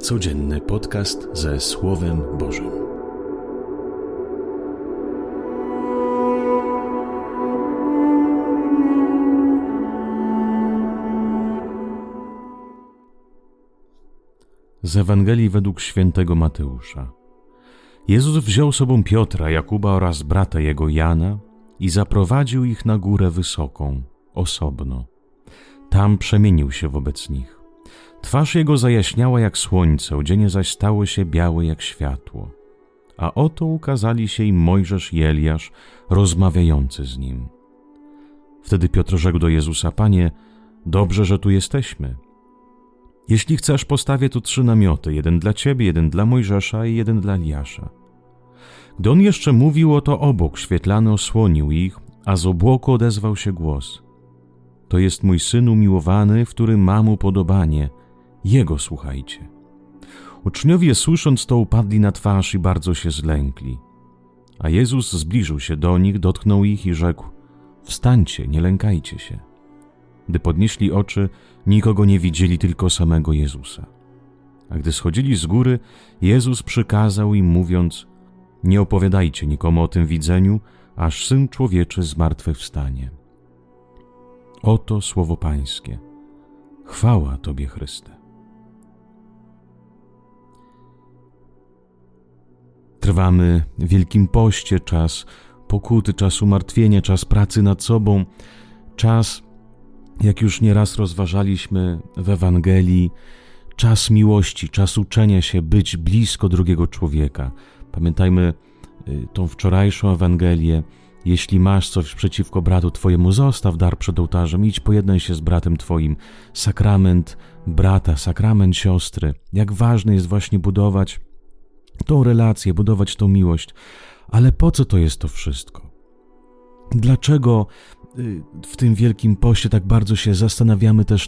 Codzienny podcast ze Słowem Bożym. Z Ewangelii według świętego Mateusza. Jezus wziął sobą Piotra, Jakuba oraz brata jego Jana i zaprowadził ich na górę wysoką, osobno. Tam przemienił się wobec nich. Twarz jego zajaśniała jak słońce, odzienie zaś stało się białe jak światło. A oto ukazali się im Mojżesz i Eliasz, rozmawiający z nim. Wtedy Piotr rzekł do Jezusa: Panie, dobrze, że tu jesteśmy. Jeśli chcesz, postawię tu 3 namioty, jeden dla Ciebie, jeden dla Mojżesza i jeden dla Eliasza. Gdy on jeszcze mówił, oto obok świetlany osłonił ich, a z obłoku odezwał się głos: To jest mój Syn umiłowany, w którym mam upodobanie. Jego słuchajcie. Uczniowie, słysząc to, upadli na twarz i bardzo się zlękli. A Jezus zbliżył się do nich, dotknął ich i rzekł: Wstańcie, nie lękajcie się. Gdy podnieśli oczy, nikogo nie widzieli, tylko samego Jezusa. A gdy schodzili z góry, Jezus przykazał im, mówiąc: Nie opowiadajcie nikomu o tym widzeniu, aż Syn Człowieczy zmartwychwstanie. Oto słowo Pańskie. Chwała Tobie, Chryste. Trwamy w Wielkim Poście, czas pokuty, czas umartwienia, czas pracy nad sobą, czas, jak już nieraz rozważaliśmy w Ewangelii, czas miłości, czas uczenia się być blisko drugiego człowieka. Pamiętajmy tą wczorajszą Ewangelię. Jeśli masz coś przeciwko bratu twojemu, zostaw dar przed ołtarzem, idź pojednaj się z bratem twoim. Sakrament brata, sakrament siostry. Jak ważne jest właśnie budować tą relację, budować tą miłość. Ale po co to jest to wszystko? Dlaczego w tym Wielkim Poście tak bardzo się zastanawiamy też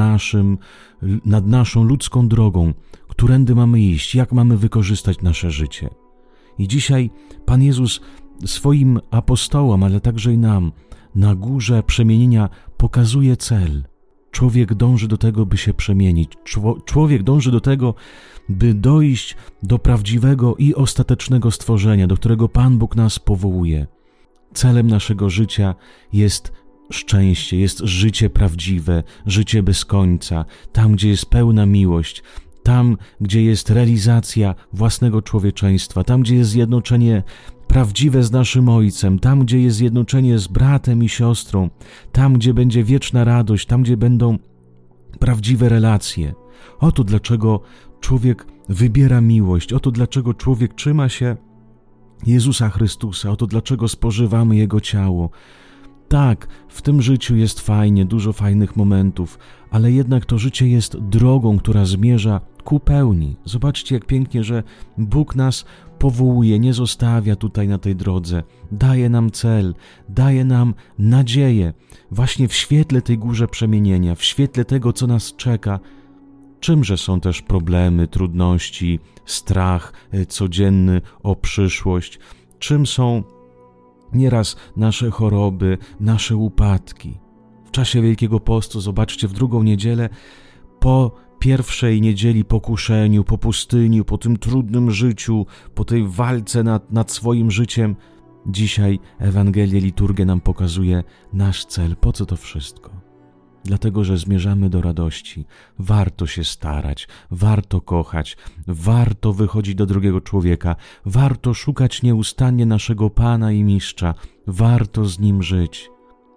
nad naszą ludzką drogą, którędy mamy iść, jak mamy wykorzystać nasze życie? I dzisiaj Pan Jezus swoim apostołom, ale także i nam, na górze przemienienia pokazuje cel. Człowiek dąży do tego, by się przemienić. Człowiek dąży do tego, by dojść do prawdziwego i ostatecznego stworzenia, do którego Pan Bóg nas powołuje. Celem naszego życia jest szczęście, jest życie prawdziwe, życie bez końca, tam, gdzie jest pełna miłość, tam, gdzie jest realizacja własnego człowieczeństwa, tam, gdzie jest zjednoczenie prawdziwe z naszym Ojcem, tam, gdzie jest zjednoczenie z bratem i siostrą, tam, gdzie będzie wieczna radość, tam, gdzie będą prawdziwe relacje. Oto dlaczego człowiek wybiera miłość, oto dlaczego człowiek trzyma się Jezusa Chrystusa, oto dlaczego spożywamy Jego ciało. Tak, w tym życiu jest fajnie, dużo fajnych momentów, ale jednak to życie jest drogą, która zmierza ku pełni. Zobaczcie, jak pięknie, że Bóg nas powołuje, nie zostawia tutaj na tej drodze. Daje nam cel, daje nam nadzieję. Właśnie w świetle tej górze przemienienia, w świetle tego, co nas czeka. Czymże są też problemy, trudności, strach codzienny o przyszłość? Czym są nieraz nasze choroby, nasze upadki? W czasie Wielkiego Postu, zobaczcie, w drugą niedzielę, po pierwszej niedzieli pokuszeniu, po pustyni, po tym trudnym życiu, po tej walce nad swoim życiem, dzisiaj Ewangelia, liturgia nam pokazuje nasz cel. Po co to wszystko? Dlatego, że zmierzamy do radości. Warto się starać, warto kochać, warto wychodzić do drugiego człowieka, warto szukać nieustannie naszego Pana i Mistrza, warto z Nim żyć,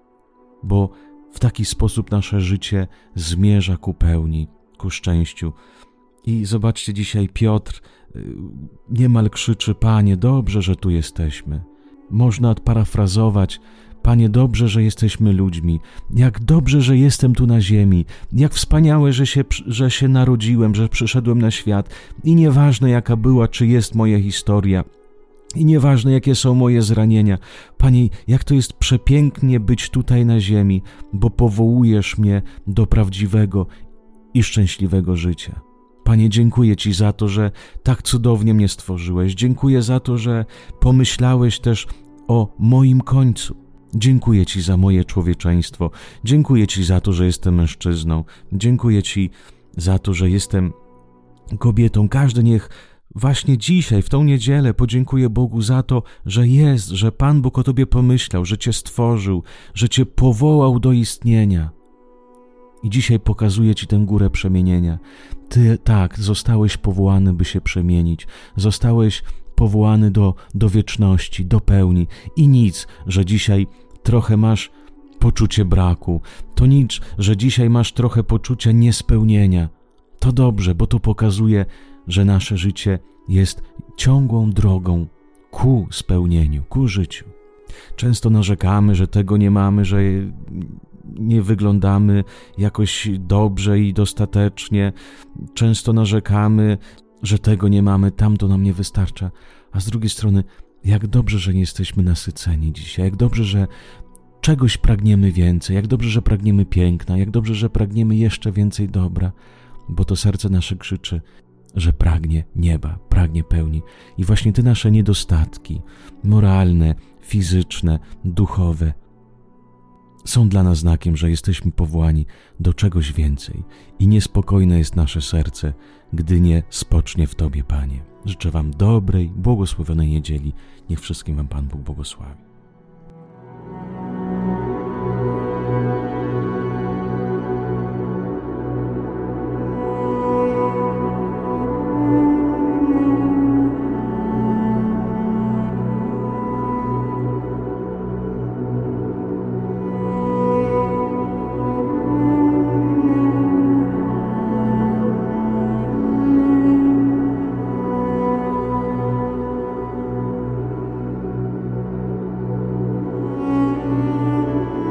bo w taki sposób nasze życie zmierza ku pełni, ku szczęściu. I zobaczcie, dzisiaj Piotr niemal krzyczy: Panie, dobrze, że tu jesteśmy. Można odparafrazować: Panie, dobrze, że jesteśmy ludźmi. Jak dobrze, że jestem tu na ziemi. Jak wspaniałe, że się narodziłem, że przyszedłem na świat. I nieważne, jaka była, czy jest moja historia. I nieważne, jakie są moje zranienia. Panie, jak to jest przepięknie być tutaj na ziemi, bo powołujesz mnie do prawdziwego i szczęśliwego życia. Panie, dziękuję Ci za to, że tak cudownie mnie stworzyłeś. Dziękuję za to, że pomyślałeś też o moim końcu. Dziękuję Ci za moje człowieczeństwo. Dziękuję Ci za to, że jestem mężczyzną. Dziękuję Ci za to, że jestem kobietom, każdy niech właśnie dzisiaj, w tą niedzielę podziękuję Bogu za to, że jest, że Pan Bóg o Tobie pomyślał, że Cię stworzył, że Cię powołał do istnienia. I dzisiaj pokazuje Ci tę górę przemienienia. Ty tak, zostałeś powołany, by się przemienić. Zostałeś powołany do wieczności, do pełni. I nic, że dzisiaj trochę masz poczucie braku. To nic, że dzisiaj masz trochę poczucia niespełnienia. To dobrze, bo to pokazuje, że nasze życie jest ciągłą drogą ku spełnieniu, ku życiu. Często narzekamy, że tego nie mamy, że nie wyglądamy jakoś dobrze i dostatecznie. Często narzekamy, że tego nie mamy, tamto nam nie wystarcza. A z drugiej strony, jak dobrze, że nie jesteśmy nasyceni dzisiaj, jak dobrze, że czegoś pragniemy więcej, jak dobrze, że pragniemy piękna, jak dobrze, że pragniemy jeszcze więcej dobra, bo to serce nasze krzyczy, że pragnie nieba, pragnie pełni. I właśnie te nasze niedostatki moralne, fizyczne, duchowe są dla nas znakiem, że jesteśmy powołani do czegoś więcej i niespokojne jest nasze serce, gdy nie spocznie w Tobie, Panie. Życzę Wam dobrej, błogosławionej niedzieli. Niech wszystkim Wam Pan Bóg błogosławi.